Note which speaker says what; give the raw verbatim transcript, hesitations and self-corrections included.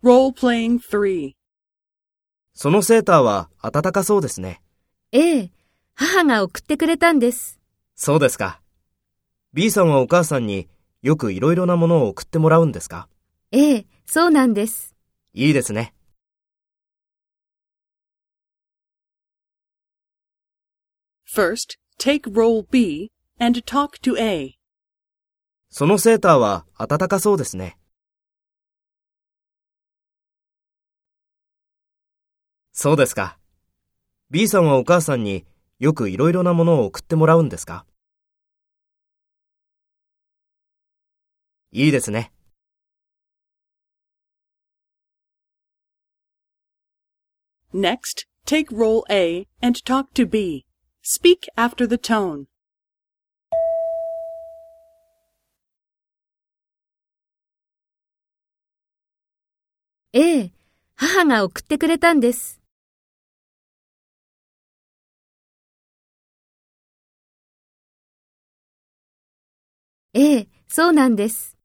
Speaker 1: Role-playing three.
Speaker 2: そのセーターは暖かそうですね。
Speaker 3: ええ、母が送ってくれたんです。
Speaker 2: そうですか。B さんはお母さんによくいろいろなものを送ってもらうんですか？
Speaker 3: ええ、そうなんです。
Speaker 2: いいですね。
Speaker 1: First, take role B and talk to A.
Speaker 2: そのセーターは暖かそうですね。そうですか。B さんはお母さんによくいろいろなものを送ってもらうんですか？いいですね。
Speaker 1: Next, take role A and talk to B. Speak after the tone.
Speaker 3: ええ、母が送ってくれたんです。ええ、そうなんです。